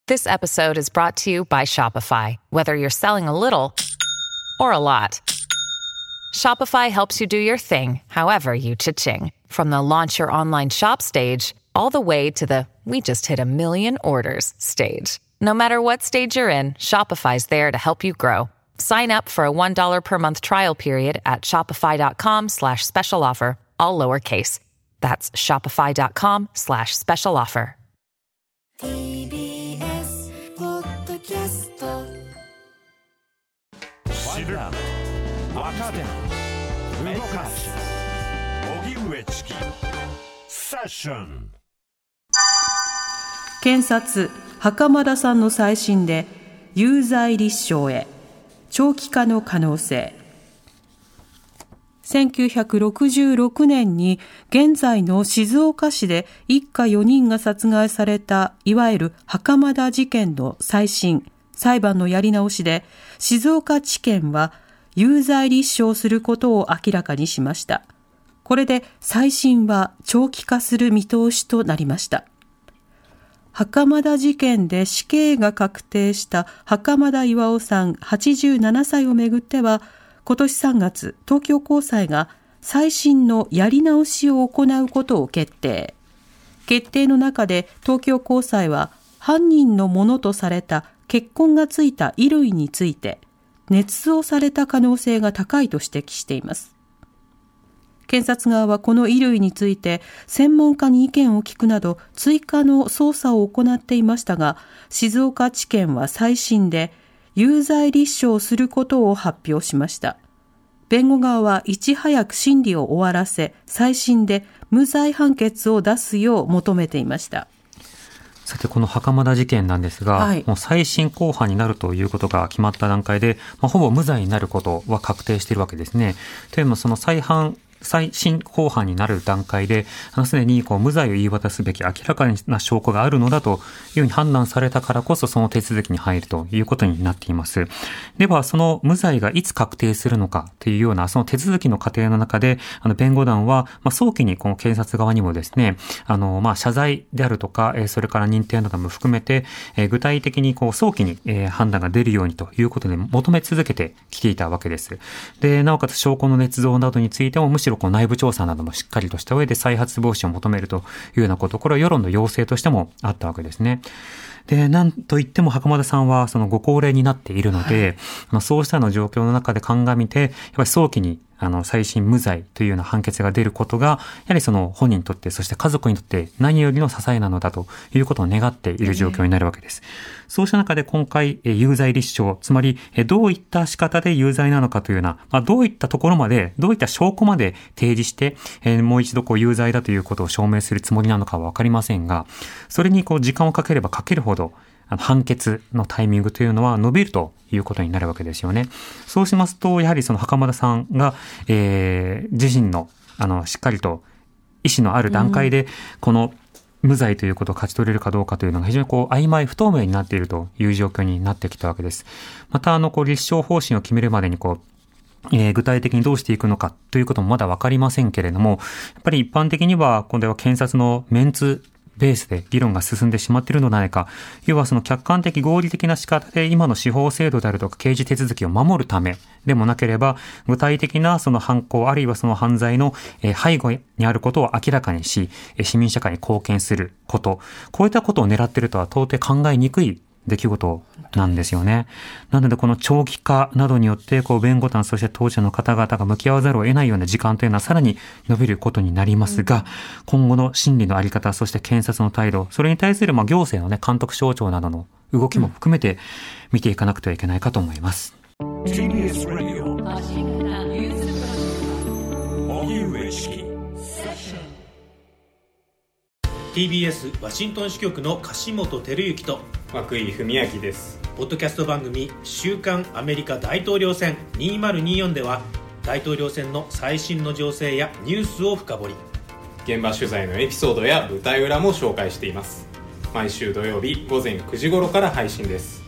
This episode is brought to you by Shopify. Whether you're selling a little or a lot, Shopify helps you do your thing, however you cha-ching. From the launch your online shop stage, all the way to the we just hit 1 million orders stage. No matter what stage you're in, Shopify's there to help you grow. Sign up for a $1 per month trial period at shopify.com/special offer, all lowercase. That's shopify.com/special offer. TBS ポッドキャスト知る若手動かす荻上チキセッション。 検察袴田さんの再審で有罪立証へ長期化の可能性。1966年に現在の静岡市で一家4人が殺害されたいわゆる袴田事件の再審、裁判のやり直しで静岡地検は有罪立証することを明らかにしました。これで再審は長期化する見通しとなりました。袴田事件で死刑が確定した袴田巌さん87歳をめぐっては、今年3月、東京高裁が再審のやり直しを行うことを決定。決定の中で東京高裁は犯人のものとされた血痕がついた衣類について捏造された可能性が高いと指摘しています。検察側はこの衣類について専門家に意見を聞くなど追加の捜査を行っていましたが、静岡地検は再審で有罪立証することを発表しました。弁護側はいち早く審理を終わらせ、再審で無罪判決を出すよう求めていました。 さて、この袴田事件なんですが、もう再審公判になるということが決まった段階で、ほぼ無罪になることは確定しているわけですね。というのも、その再審公判になる段階で、すでに無罪を言い渡すべき明らかな証拠があるのだというふうに判断されたからこそ、その手続きに入るということになっています。では、その無罪がいつ確定するのかというような、その手続きの過程の中で、弁護団は、早期にこの検察側にもですね、謝罪であるとか、それから認定なども含めて、具体的に早期に判断が出るようにということで求め続けてきていたわけです。で、なおかつ証拠の捏造などについても、むしろ内部調査などもしっかりとした上で再発防止を求めるというようなこと、これは世論の要請としてもあったわけですね。で、なんといっても袴田さんはそのご高齢になっているので、そうしたような状況の中で鑑みて、やっぱり早期に再審無罪というような判決が出ることが、やはりその本人にとって、そして家族にとって何よりの支えなのだということを願っている状況になるわけです。そうした中で今回、有罪立証、つまりどういった仕方で有罪なのかというような、どういったところまで、どういった証拠まで提示して、もう一度有罪だということを証明するつもりなのかはわかりませんが、それに時間をかければかけるほど、判決のタイミングというのは伸びるということになるわけですよね。そうしますと、やはりその袴田さんが、自身のしっかりと意思のある段階でこの無罪ということを勝ち取れるかどうかというのが非常に曖昧不透明になっているという状況になってきたわけです。また立証方針を決めるまでに具体的にどうしていくのかということもまだわかりませんけれども、やっぱり一般的にはこれは検察のメンツベースで議論が進んでしまっているのではないか。要はその客観的合理的な仕方で今の司法制度であるとか刑事手続きを守るためでもなければ、具体的なその犯行あるいはその犯罪の背後にあることを明らかにし、市民社会に貢献すること、こういったことを狙っているとは到底考えにくい出来事なんですよね。なのでこの長期化などによって弁護団そして当事者の方々が向き合わざるを得ないような時間というのはさらに伸びることになりますが、今後の審理のあり方、そして検察の態度、それに対する行政の監督省庁などの動きも含めて見ていかなくてはいけないかと思います。 TBS ラジオ荻上チキ TBS ワシントン支局の樫本照之と涌井文明です。 ポッドキャスト番組週刊アメリカ大統領選2024では大統領選の最新の情勢やニュースを深掘り、 現場取材のエピソードや舞台裏も紹介しています。毎週土曜日午前9時頃から配信です。